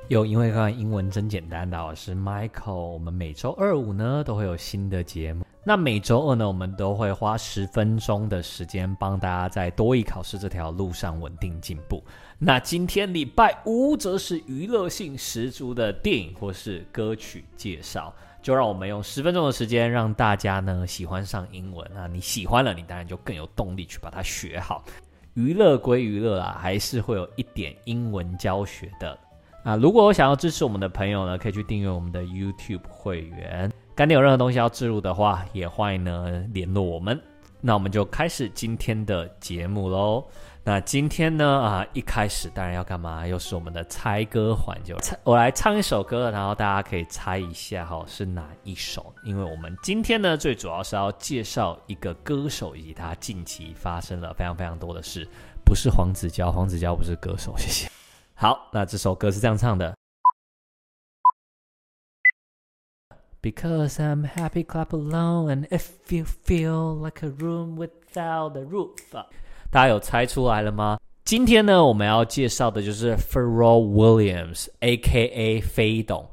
因為剛剛英文真簡單的，我是 Michael。我們每周二五呢都會有新的節目。那每周二呢，我們都會花10分鐘的時間幫大家在多益考試這條路上穩定進步。那今天禮拜五則是娛樂性十足的電影或是歌曲介紹，就讓我們用10分鐘的時間讓大家呢喜歡上英文啊！你喜歡了，你當然就更有動力去把它學好。娛樂歸娛樂啊，還是會有一點英文教學的。如果我想要支持我們的朋友呢，可以去訂閱我們的 YouTube 會員。乾爹有任何東西要置入的話，也歡迎呢聯絡我們。那我們就開始今天的節目嘍。那今天呢一開始當然要幹嘛？又是我們的猜歌環節。我來唱一首歌，然後大家可以猜一下是哪一首。因為我們今天呢最主要是要介紹一個歌手以及他近期發生了非常非常多的事，不是黄子佼，黄子佼不是歌手，謝謝。好，那這首歌是這樣唱的。Because I'm happy, clap along, and if you feel like a room without a roof， 大家有猜出來了嗎？今天呢，我們要介紹的就是 Pharrell Williams，A.K.A. 飛董。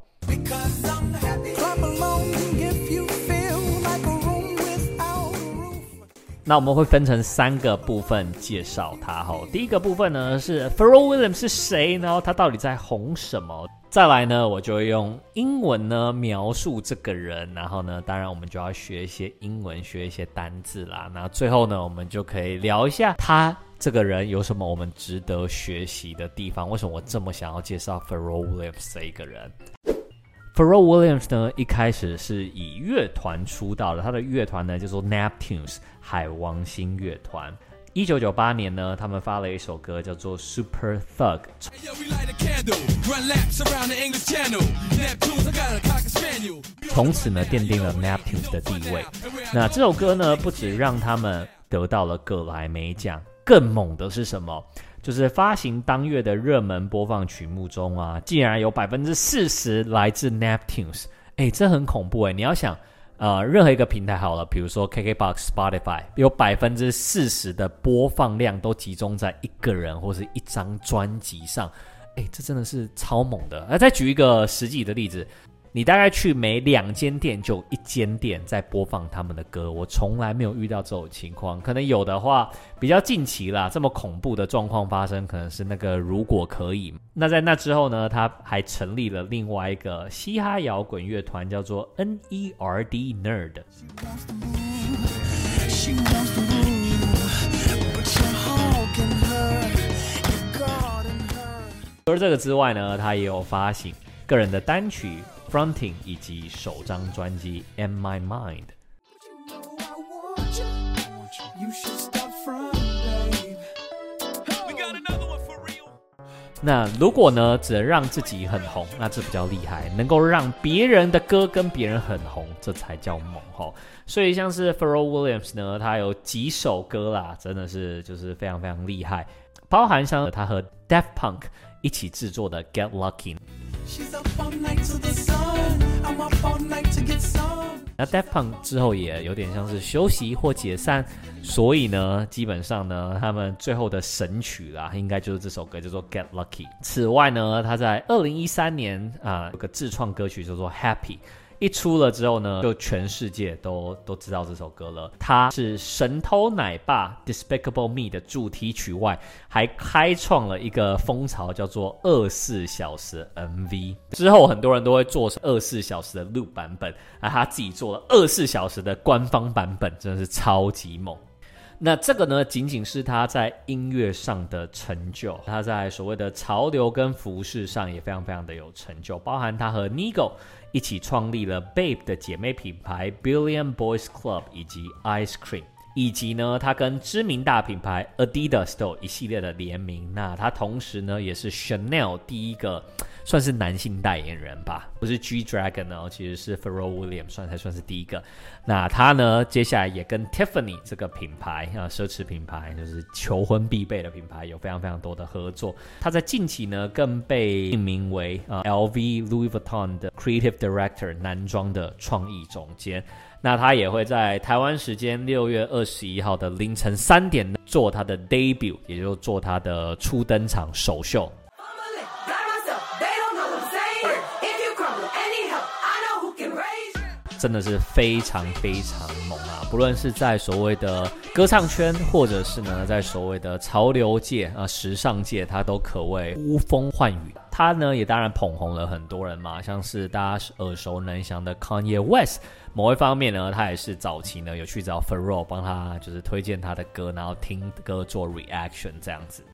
那我們會分成3個部分介紹他。第一個部分呢是 Pharrell Williams 是誰，然後他到底在紅什麼。再來呢，我就會用英文呢描述這個人，然後呢，當然我們就要學一些英文，學一些單字啦。那最後呢，我們就可以聊一下他這個人有什麼我們值得學習的地方。為什麼我這麼想要介紹 Pharrell Williams 這一個人？Pharrell Williams 呢，一開始是以樂團出道的，他的樂團呢叫做 Neptunes 海王星樂團。1998年呢，他們發了一首歌叫做 Super Thug， 從此呢奠定了 Neptunes 的地位。那這首歌呢，不只讓他們得到了葛萊美獎，更猛的是什麼？就是發行當月的熱門播放曲目中啊，竟然有 40% 來自 Neptunes。這很恐怖。你要想任何一個平台好了，比如說 KKBOX、Spotify， 有 40% 的播放量都集中在一個人或是一張專輯上。這真的是超猛的。再舉一個實際的例子，你大概去每2間店就1間店在播放他們的歌，我從來沒有遇到這種情況。可能有的話比較近期啦，這麼恐怖的狀況發生可能是那個如果可以。那在那之後呢，他還成立了另外一個嘻哈搖滾樂團，叫做 NERD Nerd。除了這個之外呢，他也有發行個人的單曲Fronting 以及首張專輯 In My Mind。 那如果呢只能讓自己很紅，那這比較厲害，能夠讓別人的歌跟別人很紅，這才叫猛。所以像是 Pharrell Williams 呢，他有幾首歌啦，真的是就是非常非常厲害，包含像他和 Daft Punk 一起制作的 Get Lucky。那 Daft Punk 之後也有點像是休息或解散，所以呢，基本上呢，他們最後的神曲啦，應該就是這首歌叫做 Get Lucky。此外呢，他在2013年有個自創歌曲叫做 Happy。一出了之後呢，就全世界都知道這首歌了。它是神偷奶爸 Despicable Me 的主題曲外，還開創了一個風潮，叫做24小時 MV。之後很多人都會做24小時的 loop 版本，他自己做了24小時的官方版本，真的是超級猛。那這個呢，僅僅是他在音樂上的成就，他在所謂的潮流跟服飾上也非常非常的有成就，包含他和 Nigo 一起創立了 Bape 的姐妹品牌 Billion Boys Club 以及 Ice Cream， 以及呢，他跟知名大品牌 Adidas 都有一系列的聯名。那他同時呢，也是 Chanel 第一個算是男性代言人吧，不是 G-Dragon 哦，其實是 Pharrell Williams 才算是第一個。那他呢，接下來也跟 Tiffany 這個品牌奢侈品牌，就是求婚必備的品牌，有非常非常多的合作。他在近期呢，更被命名為LV Louis Vuitton 的 Creative Director 男裝的創意總監。那他也會在台灣時間6月21號的凌晨3點做他的 debut， 也就是做他的初登場首秀。 真的是非常非常猛啊！不論是在所謂的歌唱圈，或者是呢在所謂的潮流界時尚界，他都可謂呼風喚雨。他呢也當然捧紅了很多人嘛，像是大家耳熟能詳的 Kanye West。某一方面呢，他也是早期呢有去找 Pharrell 幫他就是推薦他的歌，然後聽歌做 reaction 這樣子。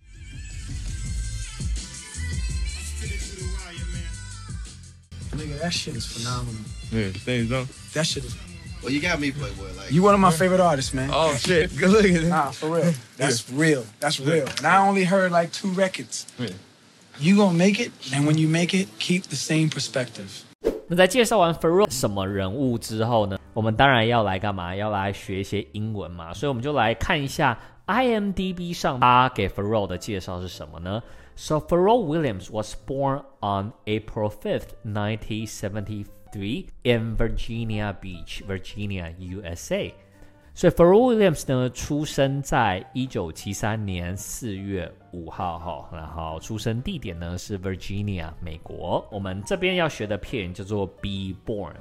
Nigga, that shit is phenomenal. Yeah, think so? That shit is. Well, you got me, Playboy. Like you one of my favorite artists, man. Oh shit, good looking. Nah, for real. That's real. That's real. And I only heard like 2 records. Yeah. You gonna make it, and when you make it, keep the same perspective. 那在介紹完 Pharrell 什麼人物之後呢，我們當然要來幹嘛？要來學一些英文嘛，所以我們就來看一下 IMDb 上他給 Pharrell 的介紹是什麼呢？So Pharrell Williams was born on April 5th, 1973 in Virginia Beach, Virginia, USA. 所以 Pharrell Williams 呢，出生在1973年4月5號，然後出生地點呢是 Virginia, 美國。我們這邊要學的片語叫做 be born,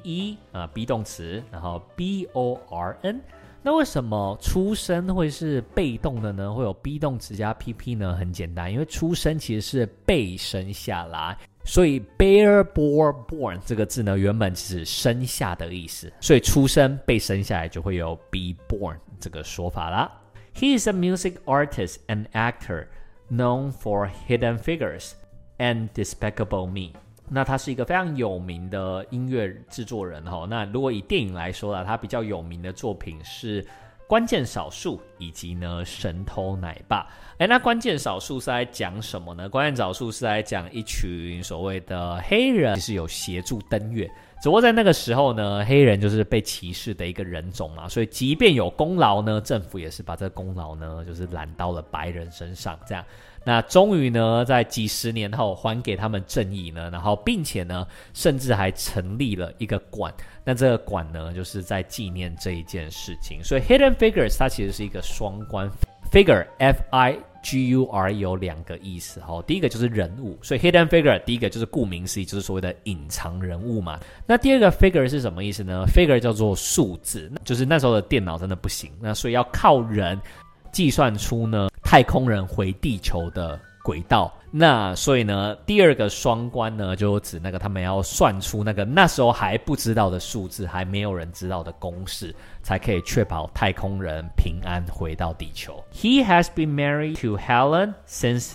be 動詞，然後 born。那為什麼出生會是被動的呢？會有 be 動詞加 pp 呢？很簡單，因為出生其實是被生下來，所以 bear born 這個字呢，原本是生下的意思，所以出生被生下來就會有 be born 這個說法啦。He is a music artist and actor known for Hidden Figures and Despicable Me。那他是一個非常有名的音樂製作人齁。那如果以電影來說啦，他比較有名的作品是關鍵少數以及呢神偷奶爸。那關鍵少數是在講什麼呢？關鍵少數是在講一群所謂的黑人其實有協助登月，只不過在那個時候呢，黑人就是被歧視的一個人種嘛，所以即便有功勞呢，政府也是把這個功勞呢就是攬到了白人身上這樣。那終於呢，在幾十年後還給他們正義呢，然後並且呢，甚至還成立了一個館。那這個館呢，就是在紀念這一件事情。所以 Hidden Figures 它其實是一個雙關 ，figure F-I-G-U-R 有兩個意思哈。第一個就是人物，所以 Hidden Figure 第一個就是顧名思義，就是所謂的隱藏人物嘛。那第二個 figure 是什麼意思呢？ figure 叫做數字，就是那時候的電腦真的不行，那所以要靠人計算出呢太空人回地球的軌道。那所以呢，第二個雙關呢，就指那個他們要算出那個那時候還不知道的數字，還沒有人知道的公式，才可以確保太空人平安回到地球。He has been married to Helen since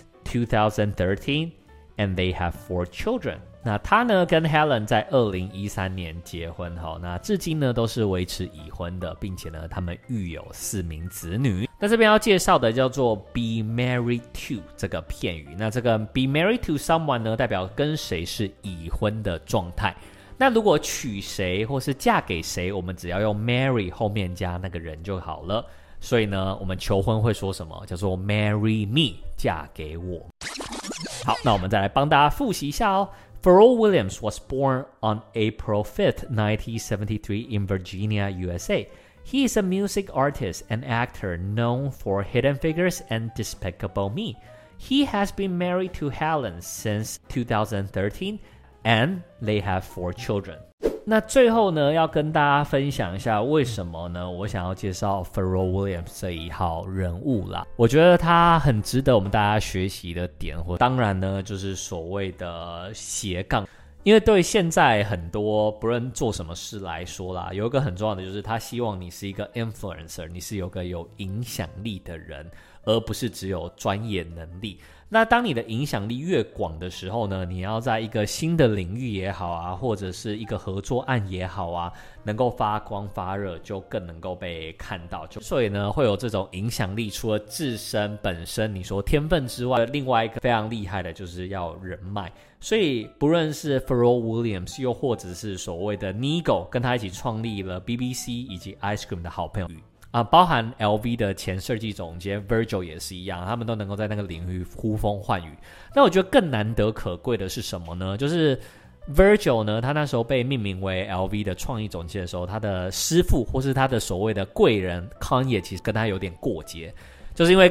2013, and they have 4 children. 那他呢跟 Helen 在2013年結婚，那至今呢都是維持已婚的，並且呢他們育有4名子女。那這邊要介紹的叫做 be married to 這個片語，那這個 be married to someone 呢代表跟誰是已婚的狀態。那如果娶誰或是嫁給誰，我們只要用 marry 後面加那個人就好了。所以呢我們求婚會說什麼？叫做 marry me， 嫁給我。好，那我們再來幫大家複習一下哦。Pharrell Williams was born on April 5th, 1973 in Virginia, USA. He is a music artist and actor known for Hidden Figures and Despicable Me. He has been married to Helen since 2013, and they have 4 children. 那最後呢，要跟大家分享一下為什麼呢？我想要介紹 Pharrell Williams 這一號人物啦。我覺得他很值得我們大家學習的點，或當然呢，就是所謂的斜槓。因為對現在很多不論做什麼事來說啦，有一個很重要的就是他希望你是一個 influencer， 你是有個有影響力的人，而不是只有專業能力。那當你的影響力越廣的時候呢，你要在一個新的領域也好啊，或者是一個合作案也好啊，能夠發光發熱，就更能夠被看到。所以呢，會有這種影響力，除了自身本身你說天分之外，另外一個非常厲害的就是要人脈。所以不論是 Pharrell Williams， 又或者是所謂的 Nigo， 跟他一起創立了 BBC 以及 Ice Cream 的好朋友包含 LV 的前設計總監 Virgil 也是一樣，他們都能夠在那個領域呼風喚雨。那我覺得更難得可貴的是什麼呢？就是 Virgil 呢，他那時候被命名為 LV 的創意總監的時候，他的師父或是他的所謂的貴人 Kanye 其實跟他有點過節，就是因為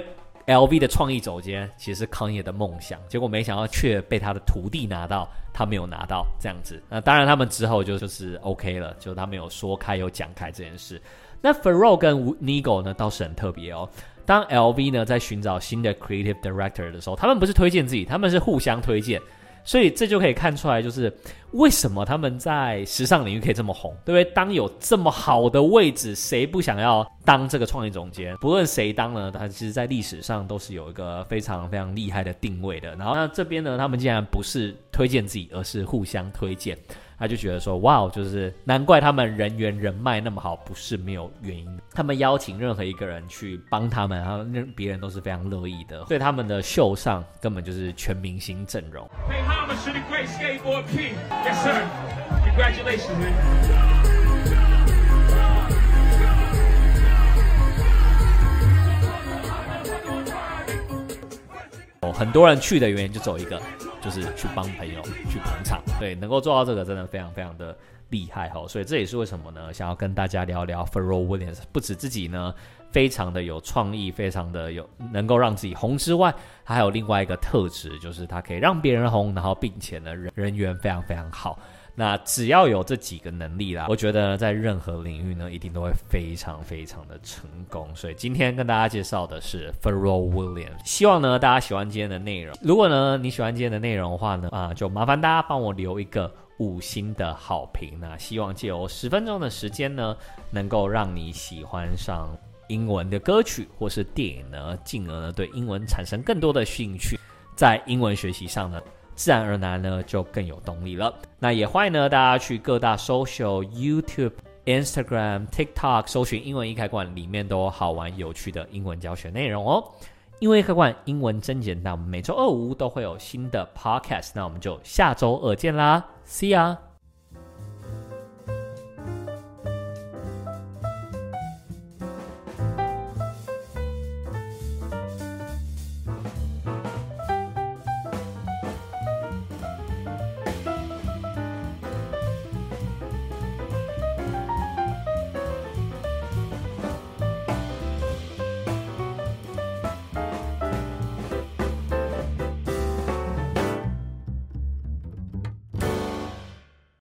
LV 的創意總監其實是 Kanye 的夢想，結果沒想到卻被他的徒弟拿到，他沒有拿到這樣子。那當然他們之後就是 OK 了，就他們有說開有講開這件事。那 Pharrell 跟 Nigo 呢倒是很特別哦。當 LV 呢在尋找新的 Creative Director 的時候，他們不是推薦自己，他們是互相推薦。所以這就可以看出來，就是為什麼他們在時尚領域可以這麼紅，對不對？當有這麼好的位置，誰不想要當這個創意總監？不論誰當呢，他其實在歷史上都是有一個非常非常厲害的定位的。然後那這邊呢，他們竟然不是推薦自己，而是互相推薦。他就覺得說，哇，就是難怪他們人緣人脈那麼好，不是沒有原因。他們邀請任何一個人去幫他們，然後別人都是非常樂意的。所以他們的秀上根本就是全明星陣容。很多人去的原因就只有一個，就是去幫朋友去捧場。对，能夠做到這個真的非常非常的厲害齁。所以這也是為什麼呢，想要跟大家聊聊 Pharrell Williams。不止自己呢非常的有創意，非常的有能夠讓自己紅之外，他還有另外一個特質，就是他可以讓別人紅，然後並且呢人緣非常非常好。那只要有這幾個能力啦，我覺得在任何領域呢，一定都會非常非常的成功。所以今天跟大家介紹的是 Pharrell Williams， 希望呢大家喜歡今天的內容。如果呢你喜歡今天的內容的話呢，就麻煩大家幫我留一個5星的好評。那希望借由10分鐘的時間呢，能夠讓你喜歡上英文的歌曲或是電影呢，進而呢對英文產生更多的興趣，在英文學習上呢自然而然呢就更有動力了。那也歡迎呢大家去各大 social、YouTube、Instagram、TikTok 搜尋英文易開罐，裡面都有好玩有趣的英文教學內容哦。英文易開罐，英文真簡單。我們每周2、5都會有新的 podcast， 那我們就下周2見啦 ，See ya。